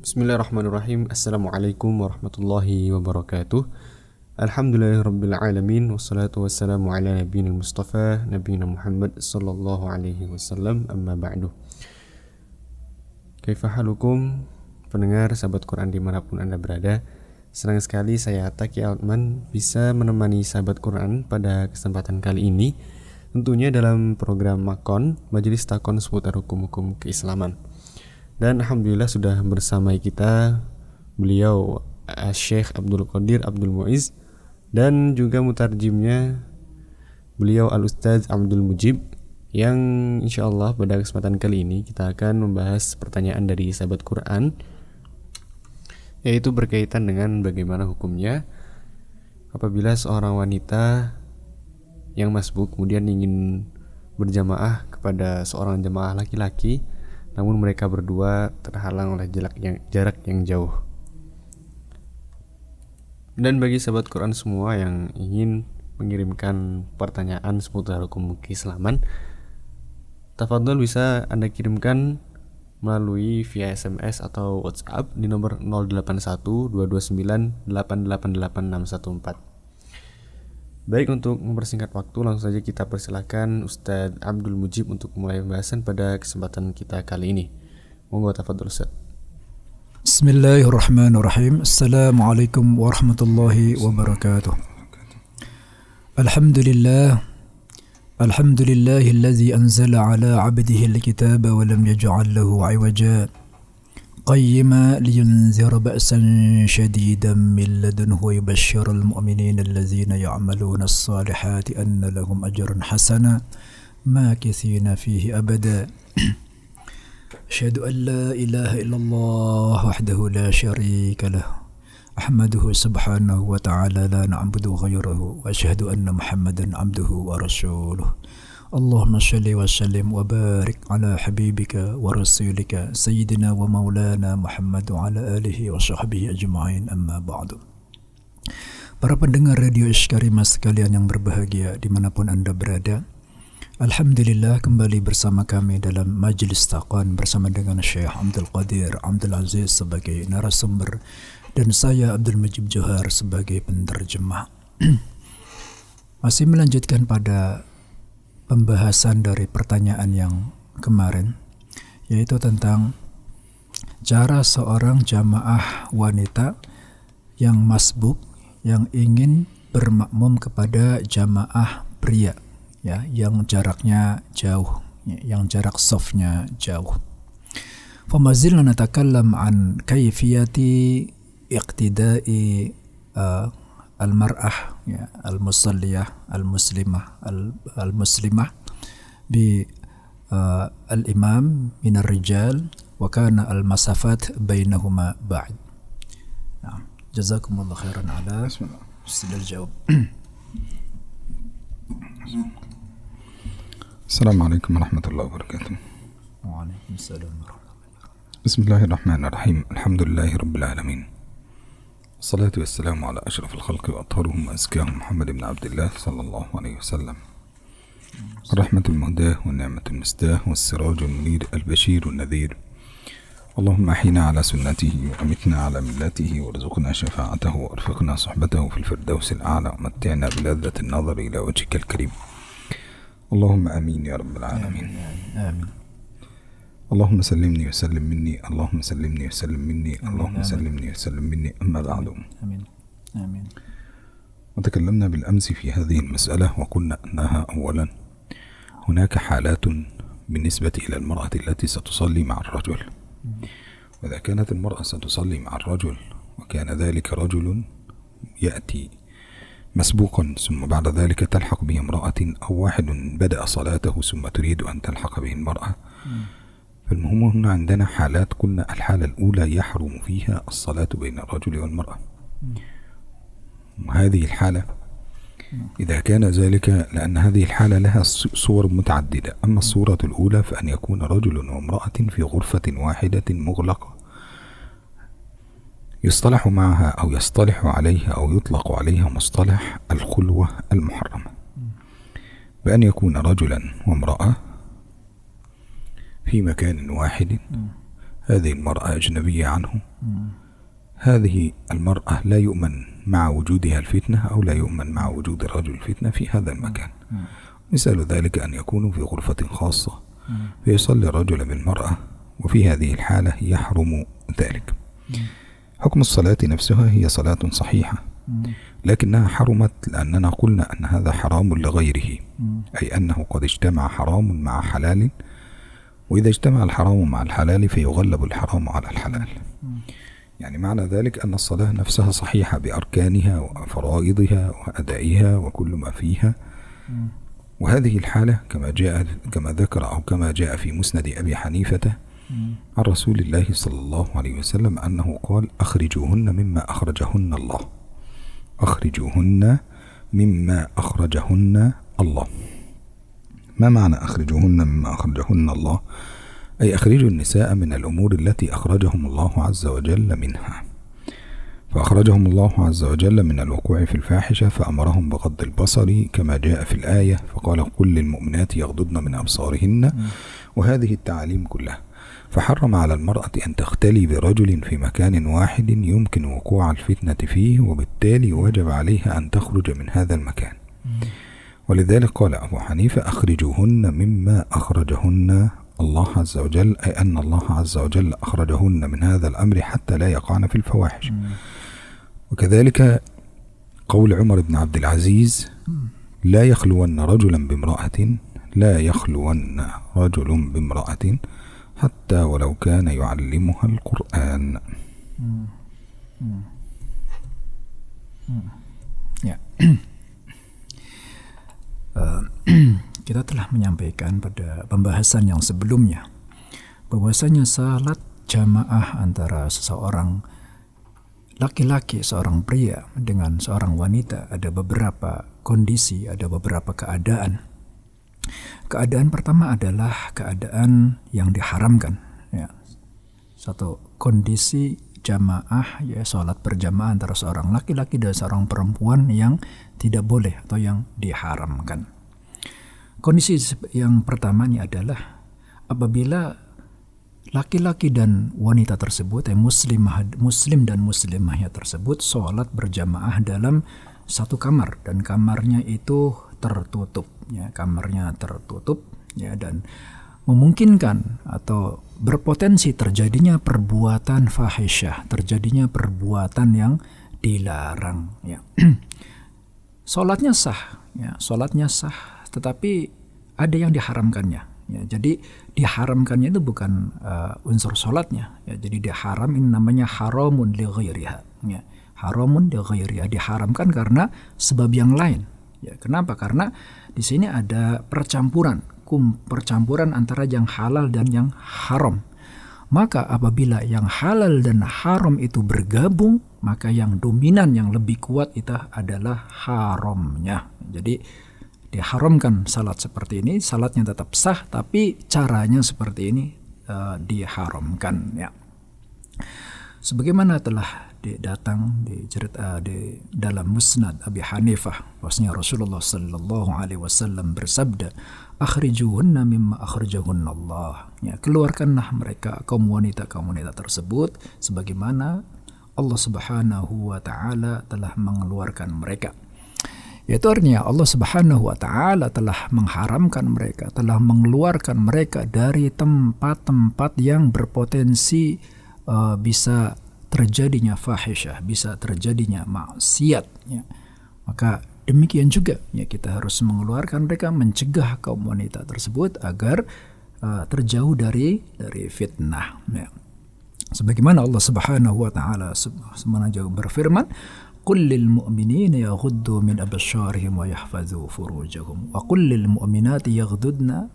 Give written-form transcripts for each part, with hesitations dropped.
Bismillahirrahmanirrahim. Assalamualaikum warahmatullahi wabarakatuh. Alhamdulillahirrabbilalamin. Wassalatu wassalamu ala nabiyina Mustafa Nabiyina Muhammad sallallahu alaihi wasallam. Amma ba'du. Kaifa halukum, pendengar sahabat Quran dimanapun Anda berada. Senang sekali saya Taki Altman bisa menemani sahabat Quran pada kesempatan kali ini, tentunya dalam program Makon, Majelis Takon seputar hukum-hukum keislaman. Dan alhamdulillah sudah bersama kita beliau Syekh Abdul Qadir Abdul Muiz, dan juga mutarjimnya beliau Al-Ustadz Abdul Mujib, yang insyaallah pada kesempatan kali ini kita akan membahas pertanyaan dari sahabat Quran, yaitu berkaitan dengan bagaimana hukumnya apabila seorang wanita yang masbuk kemudian ingin berjamaah kepada seorang jamaah laki-laki, namun mereka berdua terhalang oleh jarak yang jauh. Dan bagi sahabat Quran semua yang ingin mengirimkan pertanyaan seputar hukum keislaman, tafadhol bisa Anda kirimkan melalui via SMS atau WhatsApp di nomor 081229888614. Baik, untuk mempersingkat waktu, langsung saja kita persilakan Ustadz Abdul Mujib untuk mulai pembahasan pada kesempatan kita kali ini. Monggo tafadhol Ustadz. Bismillahirrahmanirrahim. Assalamualaikum warahmatullahi wabarakatuh. Alhamdulillahillazi anzala ala 'abdihi al-kitaba wa lam yaj'al lahu 'iwaja قيما لينذر بأسا شديدا من لدنه ويبشر المؤمنين الذين يعملون الصالحات أن لهم أجرا حسنا ماكثين فيه أبدا أشهد أن لا إله إلا الله وحده لا شريك له أحمده سبحانه وتعالى لا نعبد غيره وأشهد أن محمدا عبده ورسوله اللهم صل وسلم وبارك على حبيبك ورسولك سيدنا ومولانا محمد وعلى آله وصحبه أجمعين أما بعد. Para pendengar Radio Iskarimah sekalian yang berbahagia dimanapun Anda berada, alhamdulillah kembali bersama kami dalam Majelis Takon bersama dengan Syekh Abdul Qadir Abdul Aziz sebagai narasumber dan saya Abdul Mujib Johar sebagai penerjemah. Masih melanjutkan pada pembahasan dari pertanyaan yang kemarin, yaitu tentang cara seorang jamaah wanita yang masbuk yang ingin bermakmum kepada jamaah pria, ya, yang jaraknya jauh, yang jarak safnya jauh. Famazilna natakallam an kayfiyati iqtida'i al-mar'ah, ya, al-musalliyah, al-muslimah bi al-imam min ar-rijal wa kana al-masafat bainahuma ba'd. Nah, jazakumullah khairan ala istidlal jawab. Assalamualaikum warahmatullahi wabarakatuh. Waalaikumsalam warahmatullahi wabarakatuh. Bismillahirrahmanirrahim. Alhamdulillahirabbil alamin. الصلاة والسلام على أشرف الخلق وأطهرهم وأزكاهم محمد بن عبد الله صلى الله عليه وسلم، الرحمة المهداة والنعمة المسداة والسراج المنير البشير النذير. اللهم أحينا على سنته وأمتنا على ملته وارزقنا شفاعته وارفقنا صحبته في الفردوس الأعلى ومتعنا بلذة النظر إلى وجهك الكريم. اللهم آمين يا رب العالمين. آمين. اللهم سلمني وسلم مني، اللهم سلمني وسلم مني، اللهم سلمني وسلم مني. أما بعد، آمين. آمين. وتكلمنا بالأمس في هذه المسألة وقلنا أنها أولا هناك حالات بالنسبة إلى المرأة التي ستصلي مع الرجل، وإذا كانت المرأة ستصلي مع الرجل وكان ذلك رجل يأتي مسبوقا ثم بعد ذلك تلحق به امرأة، أو واحد بدأ صلاته ثم تريد أن تلحق به المرأة، فالمهم هنا عندنا حالات. قلنا الحالة الأولى يحرم فيها الصلاة بين الرجل والمرأة، وهذه الحالة إذا كان ذلك لأن هذه الحالة لها صور متعددة. أما الصورة الأولى فأن يكون رجل وامرأة في غرفة واحدة مغلقة يصطلح معها أو يصطلح عليها أو يطلق عليها مصطلح الخلوة المحرمة، بأن يكون رجلا وامرأة في مكان واحد هذه المرأة أجنبية عنه، هذه المرأة لا يؤمن مع وجودها الفتنة أو لا يؤمن مع وجود الرجل الفتنة في هذا المكان. مثال ذلك أن يكونوا في غرفة خاصة فيصلي الرجل بالمرأة، وفي هذه الحالة يحرم ذلك. حكم الصلاة نفسها هي صلاة صحيحة، لكنها حرمت لأننا قلنا أن هذا حرام لغيره، أي أنه قد اجتمع حرام مع حلال، وإذا اجتمع الحرام مع الحلال فيغلب الحرام على الحلال. يعني معنى ذلك أن الصلاة نفسها صحيحة بأركانها وفرائضها وأدائها وكل ما فيها. وهذه الحالة كما ذكر أو كما جاء في مسند أبي حنيفة عن رسول الله صلى الله عليه وسلم أنه قال: أخرجوهن مما أخرجهن الله، أخرجوهن مما أخرجهن الله. ما معنى أخرجوهن مما أخرجهن الله؟ أي أخرجوا النساء من الأمور التي أخرجهم الله عز وجل منها، فأخرجهم الله عز وجل من الوقوع في الفاحشة فأمرهم بغض البصر كما جاء في الآية، فقال: قل للمؤمنات يغضضن من أبصارهن، وهذه التعاليم كلها. فحرم على المرأة أن تختلي برجل في مكان واحد يمكن وقوع الفتنة فيه، وبالتالي وجب عليها أن تخرج من هذا المكان. ولذلك قال أبو حنيفة: أخرجوهن مما أخرجهن الله عز وجل، أي أن الله عز وجل أخرجهن من هذا الأمر حتى لا يقعن في الفواحش. وكذلك قول عمر بن عبد العزيز: لا يخلون رجلا بامرأة، لا يخلون رجل بامرأة حتى ولو كان يعلمها القرآن. Ya. Kita telah menyampaikan pada pembahasan yang sebelumnya bahwasanya salat jamaah antara seseorang laki-laki, seorang pria dengan seorang wanita ada beberapa kondisi, ada beberapa keadaan. Keadaan pertama adalah keadaan yang diharamkan, ya. Satu kondisi jamaah, ya, sholat berjamaah antara seorang laki-laki dan seorang perempuan yang tidak boleh atau yang diharamkan. Kondisi yang pertama ini adalah apabila laki-laki dan wanita tersebut, muslim dan muslimahnya tersebut sholat berjamaah dalam satu kamar dan kamarnya itu tertutup, ya, kamarnya tertutup, ya, dan memungkinkan atau berpotensi terjadinya perbuatan fahisyah, terjadinya perbuatan yang dilarang, ya. Sholatnya sah, ya, sholatnya sah, tetapi ada yang diharamkannya, ya. Jadi diharamkannya itu bukan unsur sholatnya, ya. Jadi diharam ini namanya haramun li ghairiha, ya. Haramun li ghairiha, diharamkan karena sebab yang lain. Ya, kenapa? Karena di sini ada percampuran antara yang halal dan yang haram. Maka apabila yang halal dan haram itu bergabung, maka yang dominan, yang lebih kuat itu adalah haramnya. Jadi diharamkan salat seperti ini, salatnya tetap sah, tapi caranya seperti ini diharamkan, ya. Sebagaimana telah datang di cerita di dalam Musnad Abi Hanifah, bahwasanya Rasulullah sallallahu alaihi wasallam bersabda, "Akhrijuhunna mimma akhrajahunna Allah." Ya, keluarkanlah mereka kaum wanita tersebut sebagaimana Allah Subhanahu wa taala telah mengeluarkan mereka. Yaitu artinya Allah Subhanahu wa taala telah mengharamkan mereka, telah mengeluarkan mereka dari tempat-tempat yang berpotensi bisa terjadinya fahisyah, bisa terjadinya maksiat, ya. Maka demikian juga, ya, kita harus mengeluarkan mereka, mencegah kaum wanita tersebut agar terjauh dari fitnah, ya. Sebagaimana Allah Subhanahu wa taala sebenarnya berfirman, "Qul lil mu'minina yaghuddu min absharihim wa yahfazu furujahum wa qul lil mu'minati yaghuddna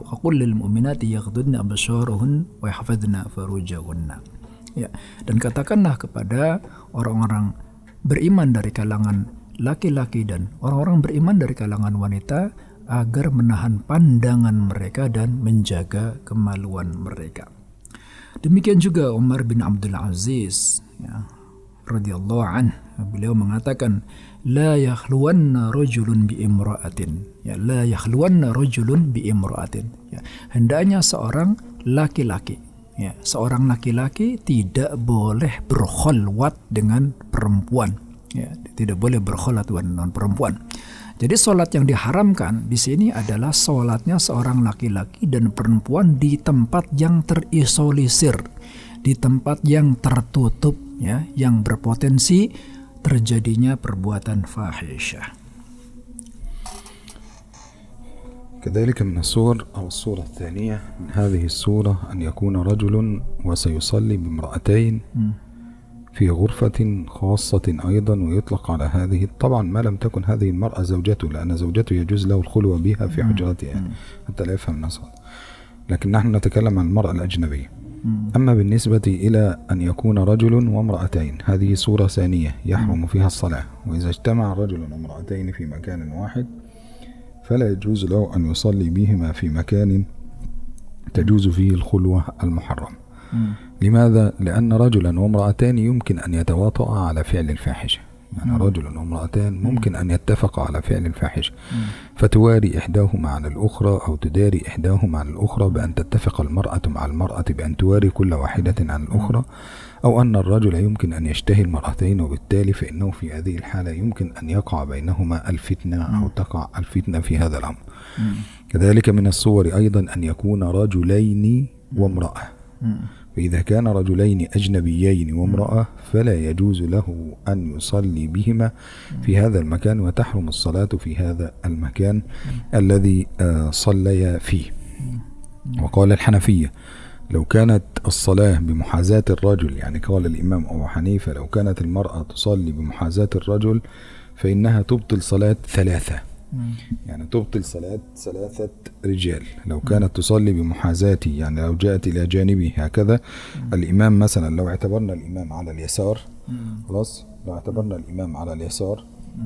absharahun wa yahfazna furujahunna." Ya, dan katakanlah kepada orang-orang beriman dari kalangan laki-laki dan orang-orang beriman dari kalangan wanita agar menahan pandangan mereka dan menjaga kemaluan mereka. Demikian juga Umar bin Abdul Aziz, ya, radhiyallahu anhu, beliau mengatakan, "La yakhluwanna rajulun bi imra'atin." Ya, la yakhluwanna rajulun bi imra'atin. Ya, hendaknya seorang laki-laki, ya, seorang laki-laki tidak boleh berkholwat dengan perempuan, ya, tidak boleh berkholwat dengan perempuan. Jadi sholat yang diharamkan di sini adalah sholatnya seorang laki-laki dan perempuan di tempat yang terisolisir, di tempat yang tertutup, ya, yang berpotensi terjadinya perbuatan fahisyah. كذلك من الصور أو الصورة الثانية من هذه الصورة أن يكون رجل وسيصلي بامرأتين في غرفة خاصة أيضا، ويطلق على هذه طبعا ما لم تكن هذه المرأة زوجته، لأن زوجته يجوز له الخلوة بها في حجرتها حتى لا يفهم الناس، لكن نحن نتكلم عن المرأة الأجنبية. أما بالنسبة إلى أن يكون رجل وامرأتين، هذه صورة ثانية يحرم فيها الصلاة، وإذا اجتمع رجل وامرأتين في مكان واحد فلا يجوز له أن يصلي بهما في مكان تجوز فيه الخلوة المحرم. لماذا؟ لأن رجلا وامرأتان يمكن أن يتواطئا على فعل الفاحشة، يعني رجل وامرأتان ممكن أن يتفقا على فعل الفاحشة، فتواري إحداهما على الأخرى أو تداري إحداهما على الأخرى بأن تتفق المرأة مع المرأة بأن تواري كل واحدة عن الأخرى، أو أن الرجل يمكن أن يشتهي المرأتين، وبالتالي فإنه في هذه الحالة يمكن أن يقع بينهما الفتنة أو تقع الفتنة في هذا الأمر. كذلك من الصور أيضا أن يكون رجلين وامرأة، فإذا كان رجلين أجنبيين وامرأة فلا يجوز له أن يصلي بهما في هذا المكان، وتحرم الصلاة في هذا المكان الذي صليا فيه. وقال الحنفية لو كانت الصلاة بمحاذاة الرجل، يعني قال الإمام أبو حنيفة لو كانت المرأة تصلي بمحاذاة الرجل فإنها تبطل صلاة ثلاثة، يعني تبطل صلاة ثلاثة رجال. لو كانت تصلي بمحاذاته، يعني لو جاءت إلى جانبه هكذا الإمام، مثلا لو اعتبرنا الإمام على اليسار، خلاص، لو اعتبرنا الإمام على اليسار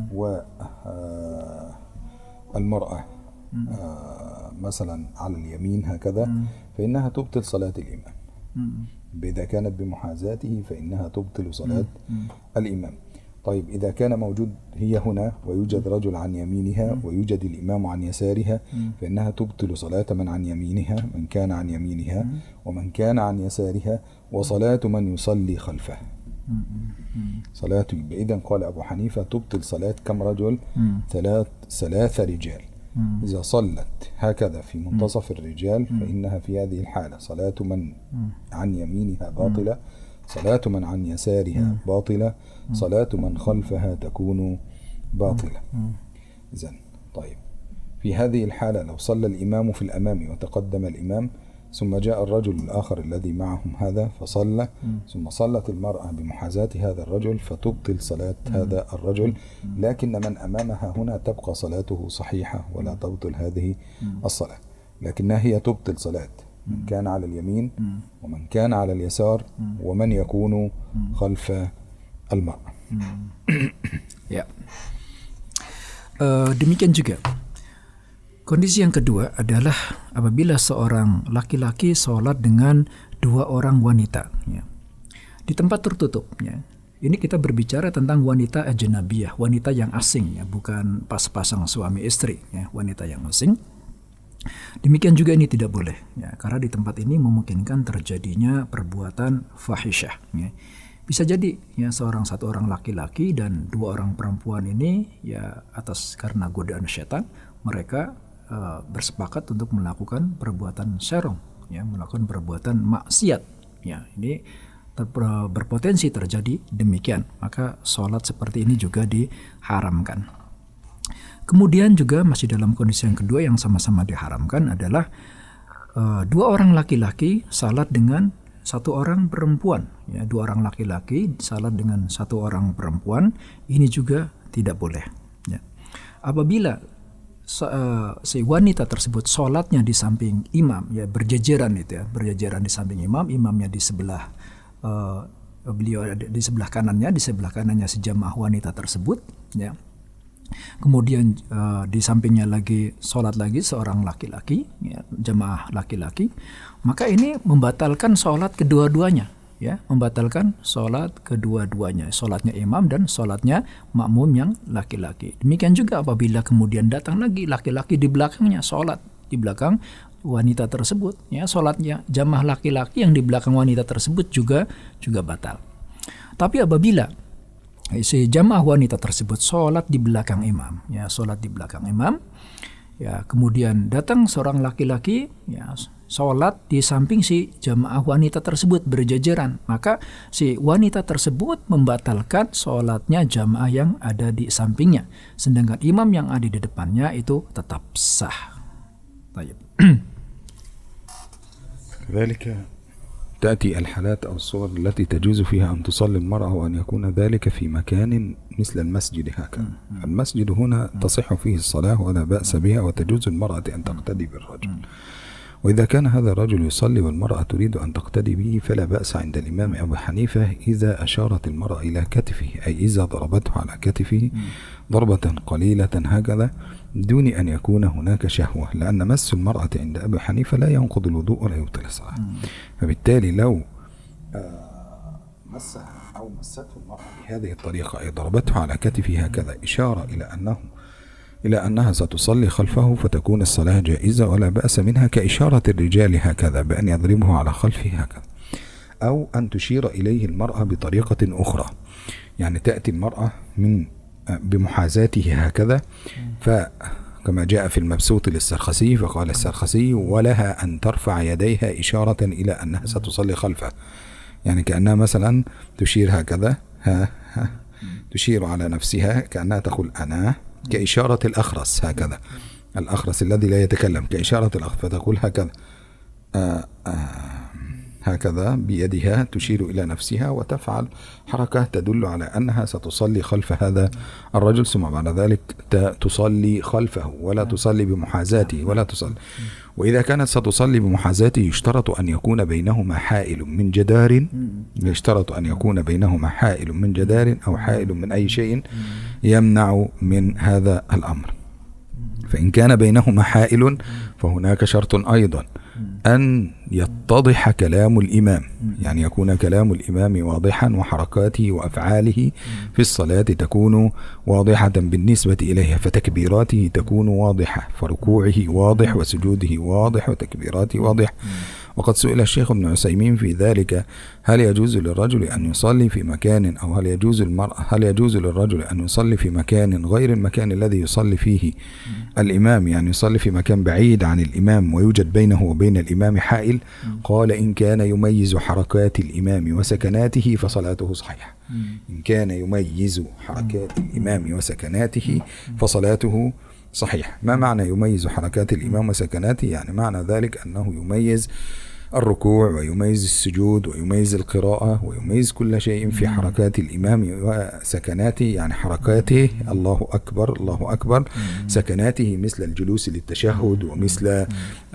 والمرأة مثلا على اليمين هكذا، فإنها تبطل صلاة الإمام. إذا كانت بمحاذاته فإنها تبطل صلاة الإمام. طيب إذا كان موجود هي هنا ويوجد رجل عن يمينها ويوجد الإمام عن يسارها، فإنها تبطل صلاة من عن يمينها، من كان عن يمينها ومن كان عن يسارها، وصلاة من يصلي خلفه. صلاة، إذن قال أبو حنيفة تبطل صلاة كم رجل؟ ثلاث رجال. إذا صلت هكذا في منتصف الرجال فإنها في هذه الحالة صلاة من عن يمينها باطلة، صلاة من عن يسارها باطلة، صلاة من خلفها تكون باطلة. إذن طيب في هذه الحالة لو صلى الإمام في الأمام وتقدم الإمام ثم جاء الرجل الآخر الذي معهم هذا فصلى، ثم صلت المرأة بمحاذاة هذا الرجل فتبطل صلاة هذا الرجل، لكن من أمامها هنا تبقى صلاته صحيحة ولا تبطل هذه الصلاة، لكنها هي تبطل صلاة من كان على اليمين ومن كان على اليسار ومن يكون خلف المرأة. Ya. Demikian juga kondisi yang kedua adalah apabila seorang laki-laki sholat dengan dua orang wanita, ya, di tempat tertutup. Ya. Ini kita berbicara tentang wanita ajnabiyah, wanita yang asing, ya, bukan pas-pasang suami istri, ya, wanita yang asing. Demikian juga ini tidak boleh, ya, karena di tempat ini memungkinkan terjadinya perbuatan fahisyah. Ya. Bisa jadi ya satu orang laki-laki dan dua orang perempuan ini ya atas karena godaan syaitan mereka bersepakat untuk melakukan perbuatan serong, ya, melakukan perbuatan maksiat. Ya, ini berpotensi terjadi demikian. Maka sholat seperti ini juga diharamkan. Kemudian juga masih dalam kondisi yang kedua yang sama-sama diharamkan adalah dua orang laki-laki salat dengan satu orang perempuan, ya, dua orang laki-laki salat dengan satu orang perempuan, ini juga tidak boleh. Ya. Apabila si wanita tersebut sholatnya di samping imam, ya berjejeran itu, ya berjejeran di samping imam, imamnya di sebelah beliau di sebelah kanannya si jamaah wanita tersebut, ya. Kemudian di sampingnya lagi sholat lagi seorang laki-laki, ya, jamaah laki-laki, maka ini membatalkan sholat kedua-duanya, ya, membatalkan sholat kedua-duanya, sholatnya imam dan sholatnya makmum yang laki-laki. Demikian juga apabila kemudian datang lagi laki-laki di belakangnya sholat di belakang wanita tersebut, ya sholatnya jamaah laki-laki yang di belakang wanita tersebut juga batal. Tapi apabila si jamaah wanita tersebut sholat di belakang imam, ya sholat di belakang imam, ya kemudian datang seorang laki-laki, ya sholat di samping si jamaah wanita tersebut berjajaran, maka si wanita tersebut membatalkan sholatnya jamaah yang ada di sampingnya, sedangkan imam yang ada di depannya itu tetap sah. Baik. ذلك تأتي الحالات أو الصور التي تجوز فيها أن تصلي المرأة وأن يكون ذلك في مكان مثل المسجد هكذا. المسجد هنا تصح فيه الصلاة ولا بأس بها وتجوز المرأة أن تقتدي بالرجل. وإذا كان هذا الرجل يصلي والمرأة تريد أن تقتدي به فلا بأس عند الإمام أبو حنيفة إذا أشارت المرأة إلى كتفه، أي إذا ضربته على كتفه ضربة قليلة هكذا دون أن يكون هناك شهوة، لأن مس المرأة عند أبي حنيفة لا ينقض الوضوء ولا يبطل الصلاة. فبالتالي لو مسها أو مسته المرأة بهذه الطريقة أي ضربته على كتفه هكذا إشارة إلى أنها ستصلي خلفه فتكون الصلاة جائزة ولا بأس منها، كإشارة الرجال هكذا بأن يضربه على خلفه هكذا، أو أن تشير إليه المرأة بطريقة أخرى، يعني تأتي المرأة بمحاذاته هكذا، فكما جاء في المبسوط للسرخسي فقال السرخسي ولها أن ترفع يديها إشارة إلى أنها ستصلي خلفه، يعني كأنها مثلا تشير هكذا تشير على نفسها كأنها تقول أنا، كإشارة الأخرس هكذا، الأخرس الذي لا يتكلم كإشارة الأخرس، فتقول هكذا هكذا بيدها تشير إلى نفسها وتفعل حركة تدل على أنها ستصلي خلف هذا الرجل، ثم بعد ذلك تصلي خلفه ولا تصلي بمحاذاته ولا تصلي. وإذا كانت ستصلي بمحاذاته يشترط أن يكون بينهما حائل من جدار، يشترط أن يكون بينهما حائل من جدار أو حائل من أي شيء يمنع من هذا الأمر. فإن كان بينهما حائل فهناك شرط أيضا أن يتضح كلام الإمام، يعني يكون كلام الإمام واضحا وحركاته وأفعاله في الصلاة تكون واضحة بالنسبة إليها، فتكبيراته تكون واضحة، فركوعه واضح وسجوده واضح وتكبيراته واضح. وقد سئل الشيخ ابن عثيمين في ذلك هل يجوز للرجل أن يصلي في مكان أو هل يجوز للرجل أن يصلي في مكان غير المكان الذي يصلي فيه الإمام، يعني يصلي في مكان بعيد عن الإمام ويوجد بينه وبين الإمام حائل؟ قال إن كان يميز حركات الإمام وسكناته فصلاته صحيحة. إن كان يميز حركات الإمام وسكناته فصلاته صحيح. ما معنى يميز حركات الإمام وسكناته؟ يعني معنى ذلك أنه يميز الركوع ويميز السجود ويميز القراءة ويميز كل شيء في حركات الإمام وسكناته، يعني حركاته الله أكبر الله أكبر، سكناته مثل الجلوس للتشهد ومثل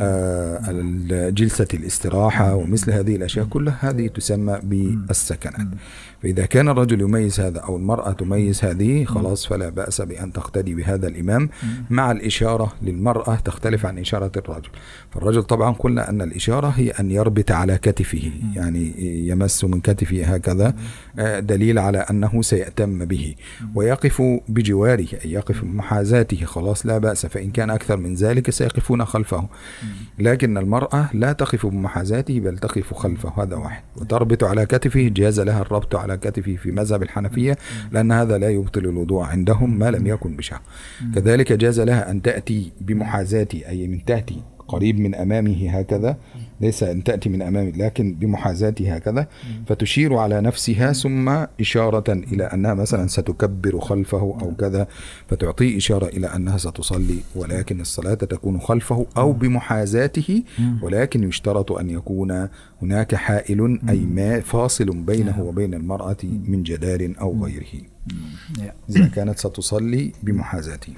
جلسة الاستراحة ومثل هذه الأشياء كلها هذه تسمى بالسكنات. فإذا كان الرجل يميز هذا أو المرأة تميز هذه خلاص فلا بأس بأن تقتدي بهذا الإمام، مع الإشارة للمرأة تختلف عن إشارة الرجل. فالرجل طبعا قلنا أن الإشارة هي أن يربط على كتفه، يعني يمس من كتفه هكذا دليل على أنه سيأتم به، ويقف بجواره أي يقف بمحاذاته خلاص لا بأس، فإن كان أكثر من ذلك سيقفون خلفه، لكن المرأة لا تقف بمحاذاته بل تقف خلفه، هذا واحد. وتربط على كتفه جاز لها الربط على كتفه في مذهب الحنفية لأن هذا لا يبطل الوضوء عندهم ما لم يكن بشهوة. كذلك جاز لها أن تأتي بمحاذاته أي من تأتي قريب من أمامه هكذا، ليس أن تأتي من أمامه لكن بمحاذاته هكذا، فتشير على نفسها ثم إشارة إلى أنها مثلا ستكبر خلفه أو كذا، فتعطي إشارة إلى أنها ستصلي ولكن الصلاة تكون خلفه أو بمحاذاته، ولكن يشترط أن يكون هناك حائل أي ما فاصل بينه وبين المرأة من جدار أو غيره إذا كانت ستصلي بمحاذاته.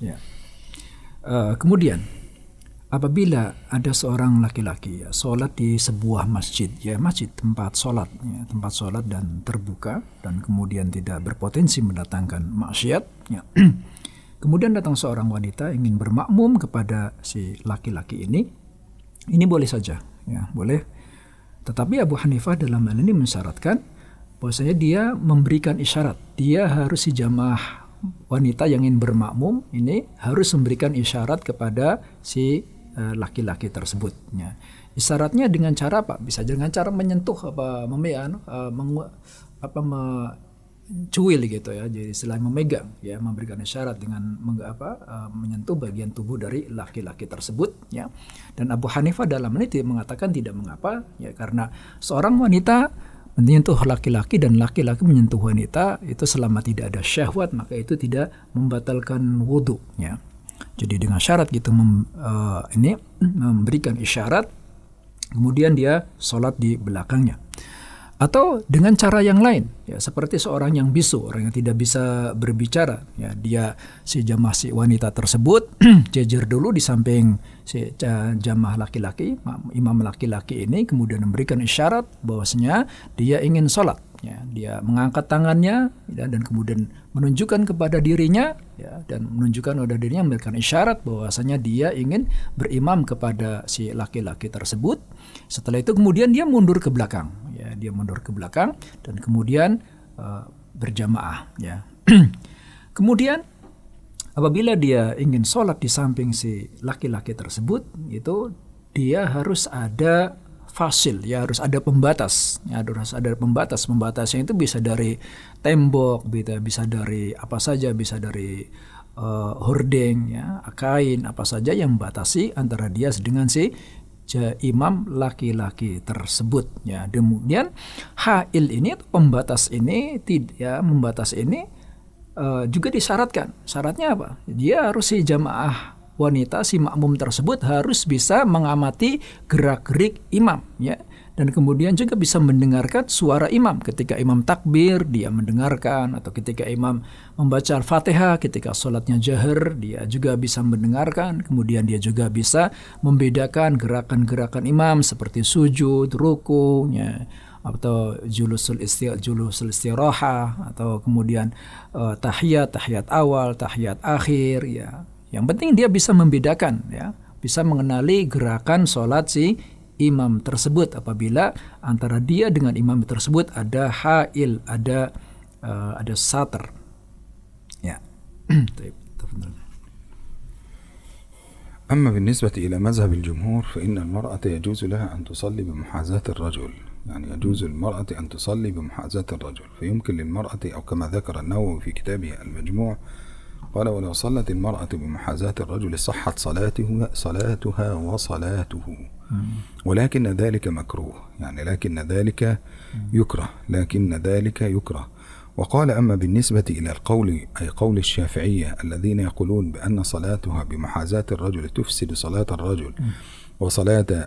Kemudian apabila ada seorang laki-laki sholat di sebuah masjid, ya masjid tempat sholat dan terbuka dan kemudian tidak berpotensi mendatangkan maksiat, ya. Kemudian datang seorang wanita ingin bermakmum kepada si laki-laki ini boleh saja, ya boleh. Tetapi Abu Hanifah dalam hal ini mensyaratkan bahwasanya dia memberikan isyarat, dia harus si jamaah wanita yang ingin bermakmum ini harus memberikan isyarat kepada si laki-laki tersebut. Ya. Isyaratnya dengan cara apa? Bisa dengan cara menyentuh cuil gitu ya. Jadi selain memegang ya, memberikan isyarat dengan menyentuh bagian tubuh dari laki-laki tersebut ya. Dan Abu Hanifah dalam ini mengatakan tidak mengapa ya, karena seorang wanita menyentuh laki-laki dan laki-laki menyentuh wanita itu selama tidak ada syahwat, maka itu tidak membatalkan wudu ya. Jadi dengan syarat gitu memberikan isyarat, kemudian dia sholat di belakangnya. Atau dengan cara yang lain, ya, seperti seorang yang bisu, orang yang tidak bisa berbicara, ya, dia si wanita tersebut jejer dulu di samping si jamaah laki-laki, imam laki-laki ini, kemudian memberikan isyarat bahwasanya dia ingin sholat, ya, dia mengangkat tangannya ya, dan kemudian menunjukkan kepada dirinya, ya, dan menunjukkan kepada dirinya, memberikan isyarat bahwasanya dia ingin berimam kepada si laki-laki tersebut. Setelah itu kemudian dia mundur ke belakang. Ya, dia mundur ke belakang dan kemudian berjamaah. Ya. Kemudian apabila dia ingin sholat di samping si laki-laki tersebut, itu dia harus ada fasil, ya, harus ada pembatas. Ya, harus ada pembatas. Pembatasnya itu bisa dari tembok, bisa dari apa saja, bisa dari hordeng, ya, kain, apa saja yang membatasi antara dia dengan si imam laki-laki tersebut ya. Kemudian hail ini, pembatas ini juga disyaratkan. Syaratnya apa? Dia harus si jamaah wanita, si makmum tersebut harus bisa mengamati gerak-gerik imam ya. Dan kemudian juga bisa mendengarkan suara imam. Ketika imam takbir, dia mendengarkan. Atau ketika imam membaca Al-Fatihah, ketika sholatnya jahar, dia juga bisa mendengarkan. Kemudian dia juga bisa membedakan gerakan-gerakan imam seperti sujud, ruku, ya, atau julusul istirahah, atau kemudian tahiyat awal, tahiyat akhir. Ya. Yang penting dia bisa membedakan, ya, bisa mengenali gerakan sholat si imam tersebut apabila antara dia dengan imam tersebut ada hail, ada satar. Ya. أما بالنسبة إلى مذهب الجمهور فإن المرأة يجوز لها أن تصلي بمحاذاة الرجل، يعني يجوز للمرأة أن تصلي بمحاذاة الرجل، فيمكن للمرأة أو كما ذكر النووي في كتابه المجموع قال: ولو صلت المرأة بمحاذاة الرجل صحت صلاتها وصلاته، ولكن ذلك مكروه، يعني لكن ذلك يكره. وقال: أما بالنسبة إلى القول أي قول الشافعية الذين يقولون بأن صلاتها بمحاذاة الرجل تفسد صلاة الرجل وصلاة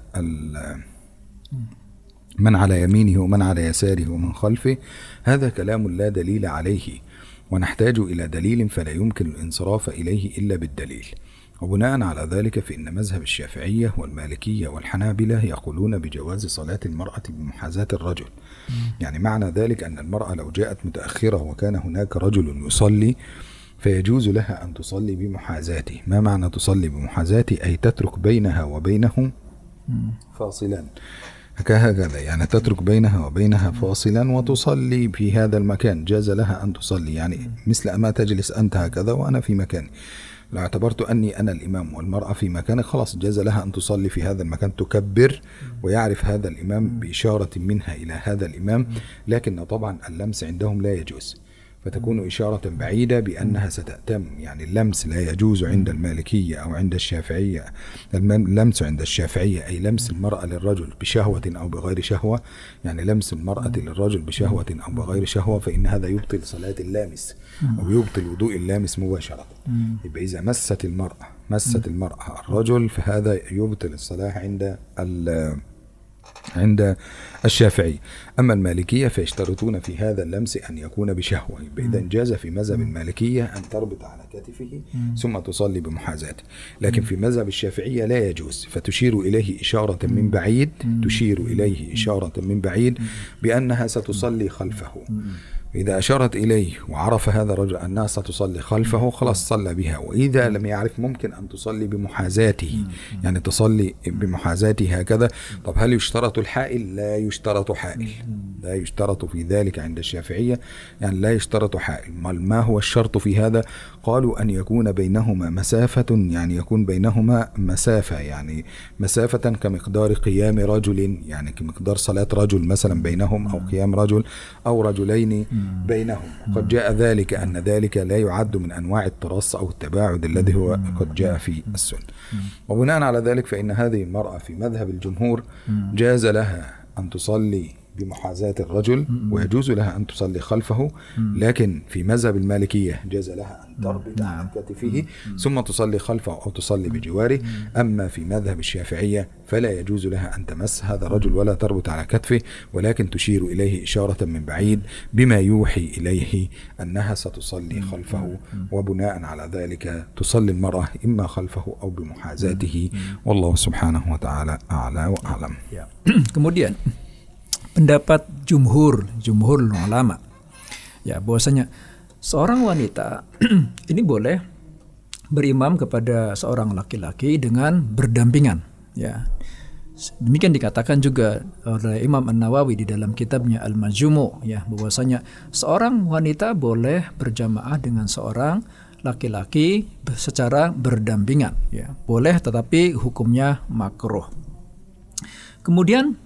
من على يمينه ومن على يساره ومن خلفه، هذا كلام لا دليل عليه، ونحتاج إلى دليل فلا يمكن الانصراف إليه إلا بالدليل. وبناء على ذلك فإن مذهب الشافعية والمالكية والحنابلة يقولون بجواز صلاة المرأة بمحاذاة الرجل. يعني معنى ذلك أن المرأة لو جاءت متأخرة وكان هناك رجل يصلي فيجوز لها أن تصلي بمحاذاته. ما معنى تصلي بمحاذاته؟ أي تترك بينها وبينه فاصلا، هكذا، يعني تترك بينها وبينها فاصلا وتصلي في هذا المكان، جاز لها أن تصلي، يعني مثل أما تجلس أنت هكذا وأنا في مكاني، لو اعتبرت أني أنا الإمام والمرأة في مكاني خلاص جاز لها أن تصلي في هذا المكان، تكبر ويعرف هذا الإمام بإشارة منها إلى هذا الإمام، لكن طبعا اللمس عندهم لا يجوز، فتكون إشارة بعيدة بأنها ستأتم. يعني اللمس لا يجوز عند المالكية أو عند الشافعية. اللمس عند الشافعية أي لمس المرأة للرجل بشهوة أو بغير شهوة، يعني لمس المرأة للرجل بشهوة أو بغير شهوة، فإن هذا يبطل صلاة اللامس أو يبطل وضوء اللامس مباشرة. يبقى إذا مست المرأة الرجل فهذا يبطل الصلاة عند الشافعي. أما المالكية فيشترطون في هذا اللمس أن يكون بشهوة، إذا جاز في مذهب المالكية أن تربط على كتفه ثم تصلي بمحاذاته، لكن في مذهب الشافعية لا يجوز، فتشير إليه إشارة من بعيد بأنها ستصلي خلفه. إذا أشارت إليه وعرف هذا الرجل أنها ستصلي خلفه خلاص صلى بها. وإذا لم يعرف ممكن أن تصلي بمحاذاته، يعني تصلي بمحاذاته هكذا. طب هل يشترط الحائل؟ لا يشترط حائل، لا يشترط في ذلك عند الشافعية، يعني لا يشترط حائل. ما هو الشرط في هذا؟ قالوا أن يكون بينهما مسافة، يعني يكون بينهما مسافة، يعني مسافة كمقدار قيام رجل، يعني كمقدار صلاة رجل مثلا بينهم، أو قيام رجل أو رجلين بينهم. قد جاء ذلك أن ذلك لا يعد من أنواع الترص أو التباعد الذي هو قد جاء في السنة. وبناء على ذلك فإن هذه المرأة في مذهب الجمهور جاز لها أن تصلي بمحاذاة الرجل ويجوز لها أن تصلي خلفه، لكن في مذهب المالكية جاز لها أن تربط عن كتفه ثم تصلي خلفه أو تصلي بجواره. أما في مذهب الشافعية فلا يجوز لها أن تمس هذا الرجل ولا تربط على كتفه، ولكن تشير إليه إشارة من بعيد بما يوحي إليه أنها ستصلي خلفه، وبناء على ذلك تصلي المرأة إما خلفه أو بمحاذاته، والله سبحانه وتعالى أعلى وأعلم. Kemudian pendapat jumhur ulama, ya, bahwasanya seorang wanita ini boleh berimam kepada seorang laki-laki dengan berdampingan, ya. Demikian dikatakan juga oleh Imam An-Nawawi di dalam kitabnya Al-Majmu', ya, bahwasanya seorang wanita boleh berjamaah dengan seorang laki-laki secara berdampingan, ya, boleh, tetapi hukumnya makruh. Kemudian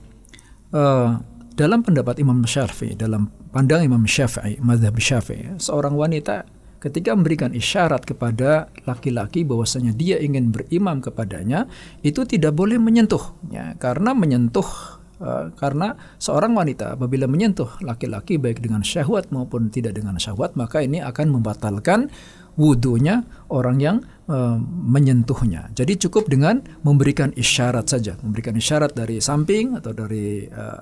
dalam pendapat Imam Syafi'i, dalam pandang Imam Syafi'i, mazhab Syafi'i, seorang wanita ketika memberikan isyarat kepada laki-laki bahwasanya dia ingin berimam kepadanya, itu tidak boleh menyentuh, ya, karena karena seorang wanita apabila menyentuh laki-laki baik dengan syahwat maupun tidak dengan syahwat, maka ini akan membatalkan wudunya orang yang menyentuhnya. Jadi cukup dengan memberikan isyarat saja, memberikan isyarat dari samping atau dari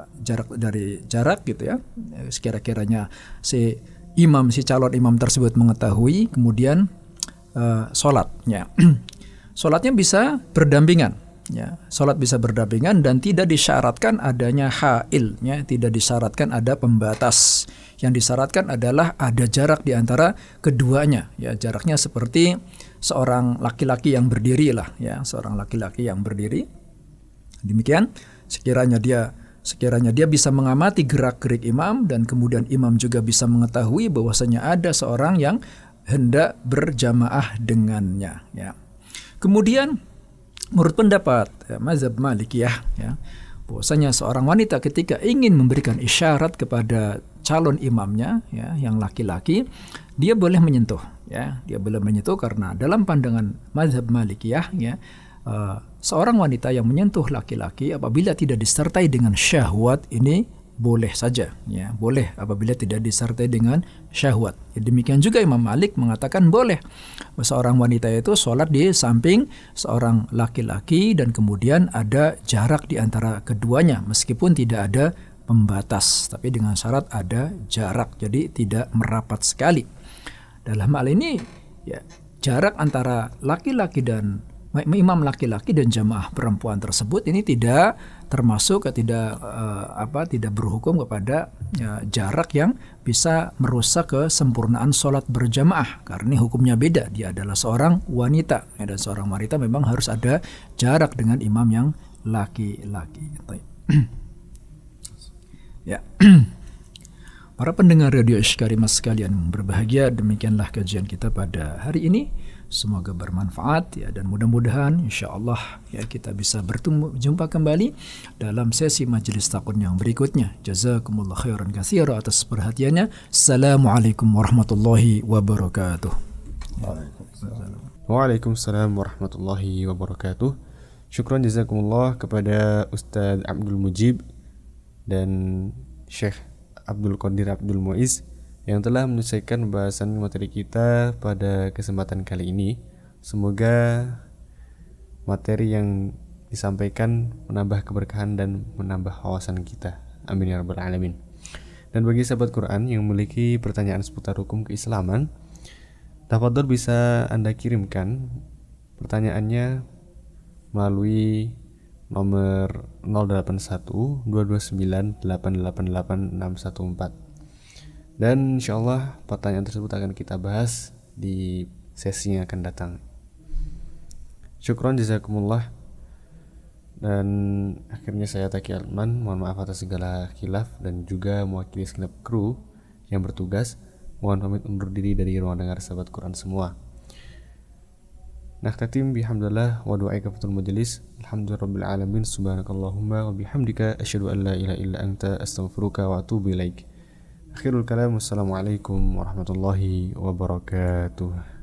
jarak gitu, ya. Sekira-kiranya si calon imam tersebut mengetahui, kemudian sholatnya sholatnya bisa berdampingan, ya. Sholat bisa berdampingan dan tidak disyaratkan adanya hail, ya, tidak disyaratkan ada pembatas. Yang disyaratkan adalah ada jarak di antara keduanya, ya, jaraknya seperti seorang laki-laki yang berdiri lah, ya, seorang laki-laki yang berdiri. Demikian sekiranya dia bisa mengamati gerak-gerik imam dan kemudian imam juga bisa mengetahui bahwasanya ada seorang yang hendak berjamaah dengannya, ya. Kemudian menurut pendapat mazhab Malikiyah, ya, bahwasanya seorang wanita ketika ingin memberikan isyarat kepada calon imamnya, ya, yang laki-laki, dia boleh menyentuh, ya, dia boleh menyentuh karena dalam pandangan mazhab Malikiyah, ya, seorang wanita yang menyentuh laki-laki apabila tidak disertai dengan syahwat ini boleh saja, ya, boleh apabila tidak disertai dengan syahwat. Ya, demikian juga Imam Malik mengatakan boleh seorang wanita itu sholat di samping seorang laki-laki dan kemudian ada jarak di antara keduanya meskipun tidak ada pembatas, tapi dengan syarat ada jarak, jadi tidak merapat sekali. Dalam hal ini, ya, jarak antara laki-laki dan imam laki-laki dan jamaah perempuan tersebut ini tidak termasuk, tidak berhukum kepada, ya, jarak yang bisa merusak kesempurnaan sholat berjamaah, karena ini hukumnya beda. Dia adalah seorang wanita, ya, dan seorang wanita memang harus ada jarak dengan imam yang laki-laki. Ya. Para pendengar Radio Iskarimat sekalian berbahagia, demikianlah kajian kita pada hari ini. Semoga bermanfaat, ya, dan mudah-mudahan insyaallah, ya, kita bisa berjumpa kembali dalam sesi majelis takun yang berikutnya. Jazakumullah khairan katsira atas perhatiannya. Assalamualaikum warahmatullahi wabarakatuh. Waalaikumsalam warahmatullahi wabarakatuh. Syukran jazakumullah kepada Ustadz Abdul Mujib dan Syekh Abdul Qadir Abdul Muiz yang telah menyelesaikan pembahasan materi kita pada kesempatan kali ini. Semoga materi yang disampaikan menambah keberkahan dan menambah wawasan kita. Amin ya rabbal alamin. Dan bagi sahabat Quran yang memiliki pertanyaan seputar hukum keislaman, tafadhol bisa Anda kirimkan pertanyaannya melalui nomor 081 229 888 614. Dan insyaallah pertanyaan tersebut akan kita bahas di sesi yang akan datang. Syukron jazakumullah. Dan akhirnya saya Taki Altman, mohon maaf atas segala khilaf dan juga mewakili segenap kru yang bertugas, mohon pamit undur diri dari ruang dengar sahabat Quran semua. Nakhtatim bihamdillah wa du'a kafatul majlis. Alhamdulillahirabbil alamin. Subhanakallahumma wa bihamdika asyhadu an la ilaha illa anta astaghfiruka wa atubu ilaik. Akhirul kalam, wassalamualaikum warahmatullahi wabarakatuh.